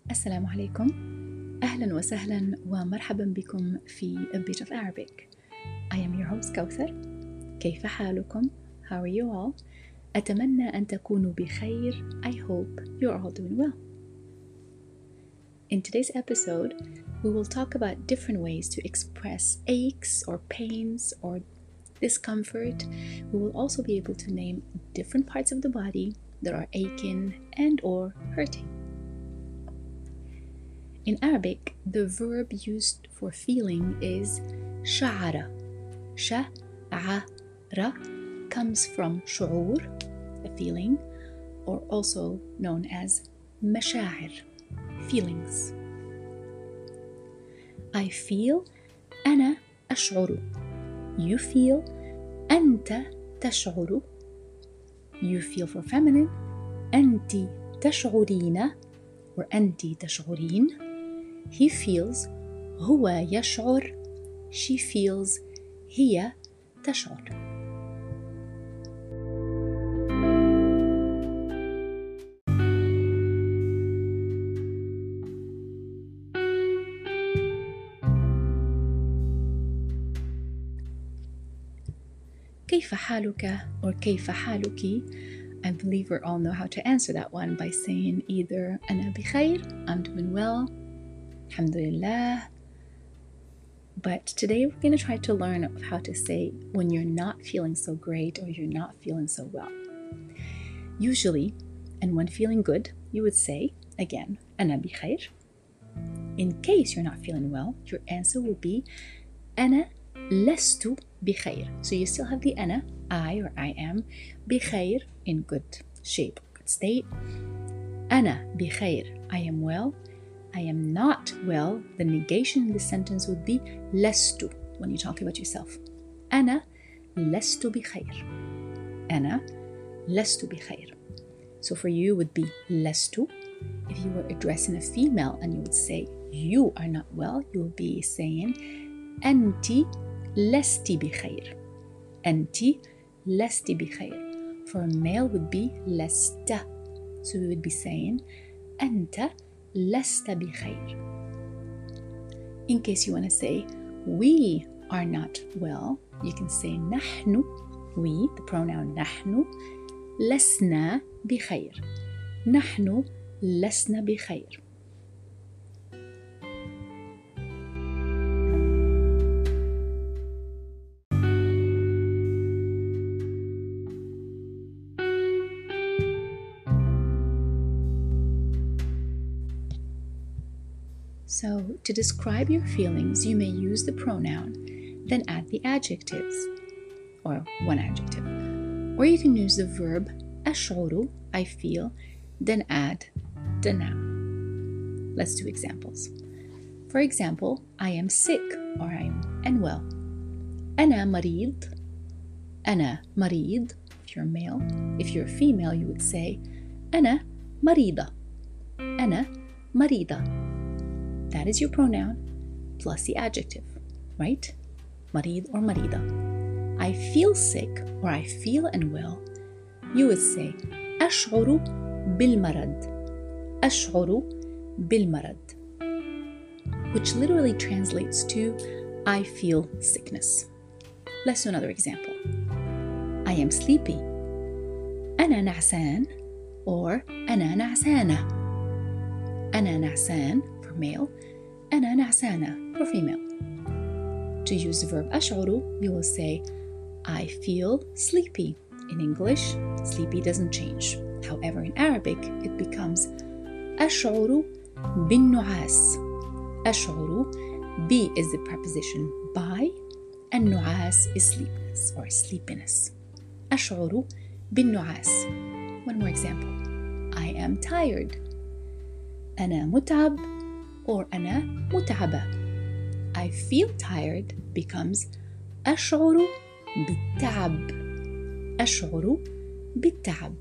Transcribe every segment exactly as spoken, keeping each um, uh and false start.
السلام عليكم. أهلا وسهلا ومرحبا بكم في A Bit of Arabic. I am your host Kawthar. كيف حالكم? How are you all? أتمنى أن تكونوا بخير. I hope you're all doing well. In today's episode, we will talk about different ways to express aches or pains or discomfort. We will also be able to name different parts of the body that are aching and or hurting. In Arabic, the verb used for feeling is sha'ara. Sha'ara comes from shu'ur, a feeling, or also known as masha'ir, feelings. I feel, أنا أشعر. You feel, أنت تشعر. You feel for feminine, أنت تشعرين or أنت تشعرين. He feels, هو يشعر. She feels, هي تشعر. كيف حالك or كيف حالك? I believe we all know how to answer that one by saying either أنا بخير, I'm doing well, alhamdulillah. But today we're going to try to learn how to say when you're not feeling so great or you're not feeling so well. Usually, and when feeling good, you would say, again, أنا بخير. In case you're not feeling well, your answer will be أنا لست بخير. So you still have the أنا, I or I am, بخير in good shape, good state. أنا بخير, I am well. I am not well. The negation in the sentence would be لست when you talk about yourself. أنا لست بخير. أنا لست بخير. So for you would be لست. If you were addressing a female and you would say you are not well, you would be saying أنت لست بخير. أنت لست بخير. For a male would be لست. So we would be saying أنت لست بخير. In case you want to say we are not well, you can say نحن, we, the pronoun نحن, لسنا بخير. نحن لسنا بخير. So, to describe your feelings, you may use the pronoun, then add the adjectives, or one adjective. Or you can use the verb أشعر, I feel, then add the noun. Let's do examples. For example, I am sick, or I am unwell. أنا مريض. أنا مريض, if you're male. If you're female, you would say أنا مريضة. أنا مريضة. That is your pronoun plus the adjective, right? مريض or مريضة. I feel sick or I feel unwell. You would say أشعر بالمرض. أشعر بالمرض. Which literally translates to I feel sickness. Let's do another example. I am sleepy. أنا نعسان or أنا نعسانة. أنا نعسان for male, أنا نعسانة for female. To use the verb أشعر, you will say I feel sleepy. In English, sleepy doesn't change. However, in Arabic, it becomes أشعر بالنعاس. أشعر, B is the preposition by, and نعاس is sleepiness or sleepiness. أشعر بالنعاس. One more example. I am tired. أنا متعب or أنا متعبة. I feel tired becomes أشعر بالتعب. أشعر بالتعب.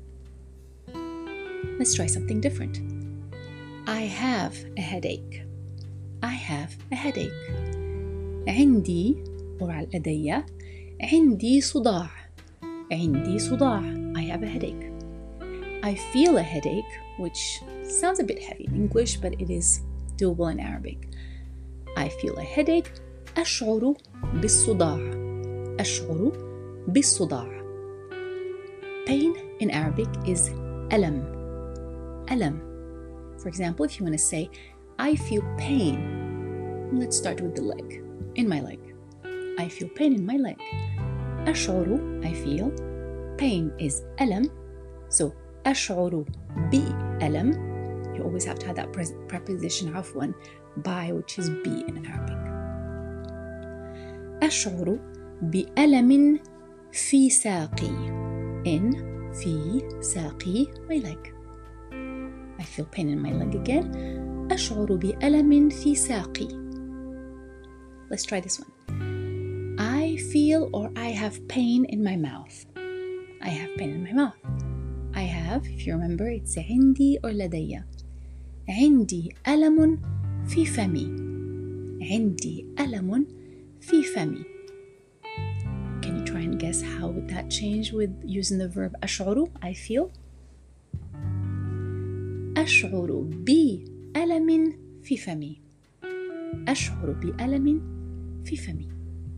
Let's try something different. I have a headache. I have a headache. عندي or لدي عندي صداع. عندي صداع. I have a headache. I feel a headache, which Sounds a bit heavy in English, but it is doable in Arabic. I feel a headache. أشعر بالصداع. أشعر بالصداع. Pain in Arabic is ألم. ألم. For example, if you want to say, I feel pain. Let's start with the leg. In my leg. I feel pain in my leg. أشعر, I feel. Pain is ألم. So, أشعر بألم. You always have to have that preposition عفوا by, which is be in Arabic. أشعر بألم في ساقي. In في ساقي, my leg. I feel pain in my leg again. أشعر بألم في ساقي. Let's try this one. I feel or I have pain in my mouth. I have pain in my mouth. I have, if you remember, it's عندي or لدي. عندي ألم في فمي. عندي ألم في فمي. Can you try and guess how would that change with using the verb أشعر, I feel? أشعر بألم في فمي. أشعر بألم في فمي.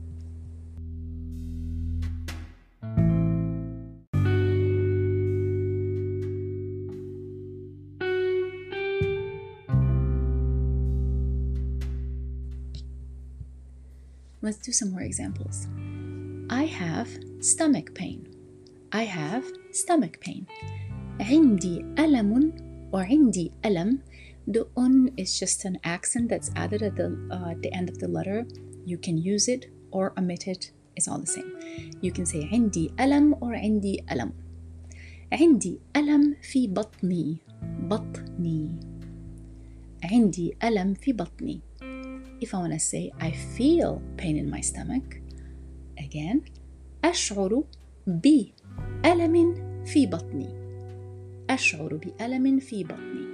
Let's do some more examples. I have stomach pain. I have stomach pain. عندي ألم or عندي ألم. The un is just an accent that's added at the, uh, at the end of the letter. You can use it or omit it. It's all the same. You can say عندي ألم or عندي ألم. عندي ألم في بطني. بطني. عندي ألم في بطني. If I want to say I feel pain in my stomach, again, أشعر بألم في بطني. أشعر بألم في بطني.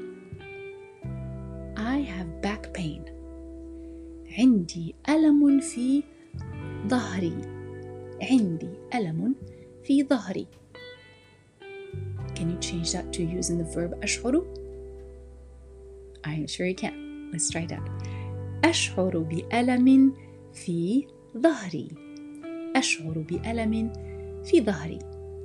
I have back pain. عندي ألم في ظهري. عندي ألم في ظهري. Can you change that to using the verb أشعر? I'm sure you can. Let's try that. أشعر بألم في ظهري. أشعر بألم في ظهري.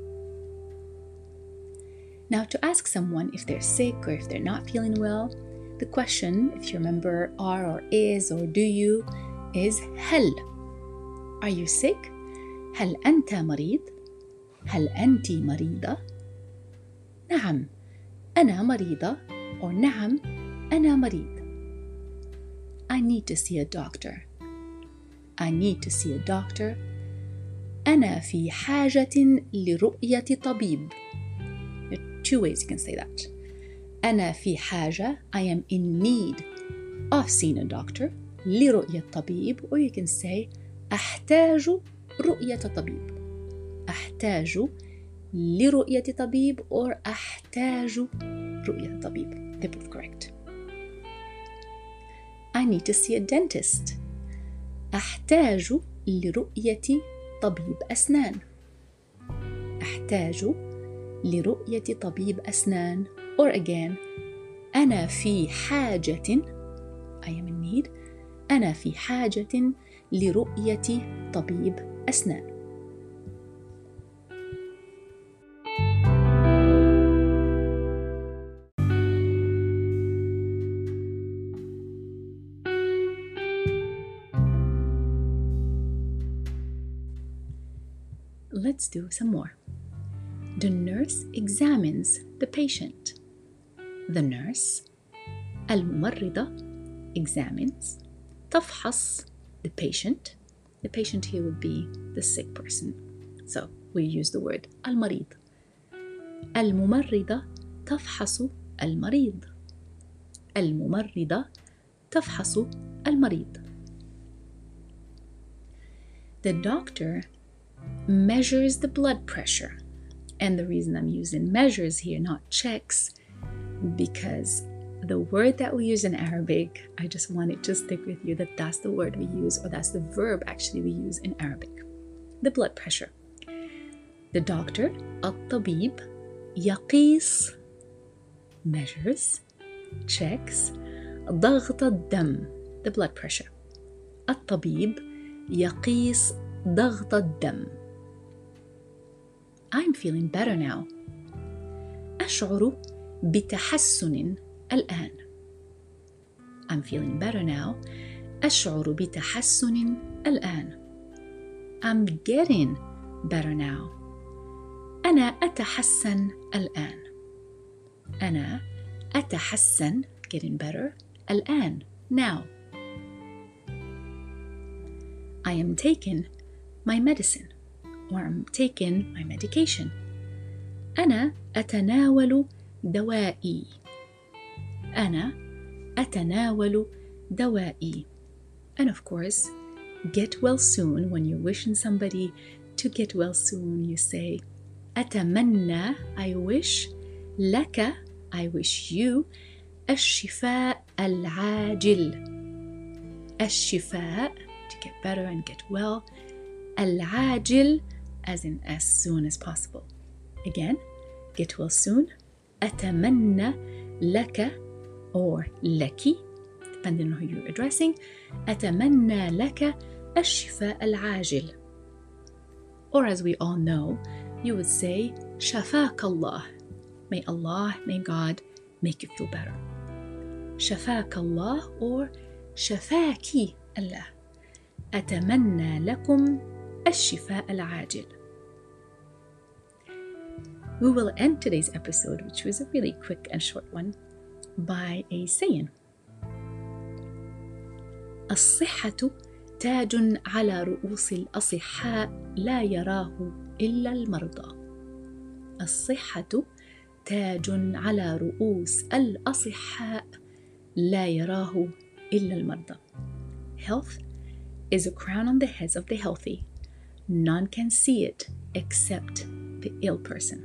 Now, to ask someone if they're sick or if they're not feeling well, the question, if you remember are or is or do you, is هل. Are you sick? هل أنت مريض؟ هل أنت مريضة؟ نعم أنا مريضة or نعم أنا مريض. I need to see a doctor. I need to see a doctor. أنا في حاجة لرؤية طبيب. There are two ways you can say that. أنا في حاجة, I am in need of seeing a doctor. لرؤية طبيب, or you can say أحتاج رؤية طبيب. أحتاج لرؤية طبيب or أحتاج رؤية طبيب. They're both correct. I need to see a dentist. أحتاج لرؤية طبيب أسنان. أحتاج لرؤية طبيب أسنان. Or again, أنا في حاجة, I am in need, أنا في حاجة لرؤية طبيب أسنان. Let's do some more. The nurse examines the patient. The nurse, الممرضة, examines, تفحص, the patient. The patient here would be the sick person. So we use the word المريض. الممرضة تفحص المريض. الممرضة تفحص المريض. The doctor measures the blood pressure. And the reason I'm using measures here, not checks, because the word that we use in Arabic, I just wanted to stick with you that that's the word we use, or that's the verb actually we use in Arabic. The blood pressure. The doctor, الطبيب, يقيس, measures, checks ضغط الدم, the blood pressure. الطبيب يقيس ضغط الدم. I'm feeling better now. أشعر بتحسن الآن. I'm feeling better now. أشعر بتحسن الآن. I'm getting better now. أنا أتحسن الآن. أنا أتحسن getting better الآن now. I am taking my medicine or I'm taking my medication. أنا أتناول دوائي. أنا أتناول دوائي. And of course, get well soon. When you're wishing somebody to get well soon, you say أتمنى, I wish, لك, I wish you, الشفاء العاجل. الشفاء, to get better and get well. العاجل, as in as soon as possible. Again, get well soon. أتمنى لك or لك, depending on who you're addressing. أتمنى لك الشفاء العاجل. Or as we all know, you would say شفاك الله. May Allah, may God make you feel better. شفاك الله or شفاكي الله. أتمنى لكم الشفاء العاجل. We will end today's episode, which was a really quick and short one, by a saying. الصحة تاج على رؤوس الأصحاء لا يراه إلا المرضى. الصحة تاج على رؤوس الأصحاء لا يراه إلا المرضى. Health is a crown on the heads of the healthy. None can see it except the ill person.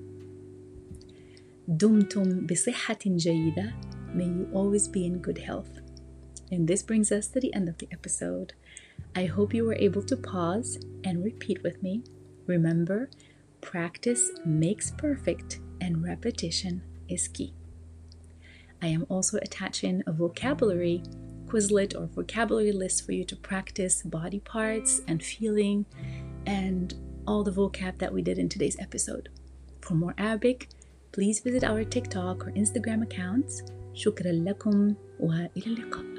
دمتم بصحة جيدة. May you always be in good health. And this brings us to the end of the episode. I hope you were able to pause and repeat with me. Remember, practice makes perfect and repetition is key. I am also attaching a vocabulary Quizlet or vocabulary list for you to practice body parts and feeling and all the vocab that we did in today's episode. For more Arabic, please visit our TikTok or Instagram accounts. شكرا لكم وإلى اللقاء.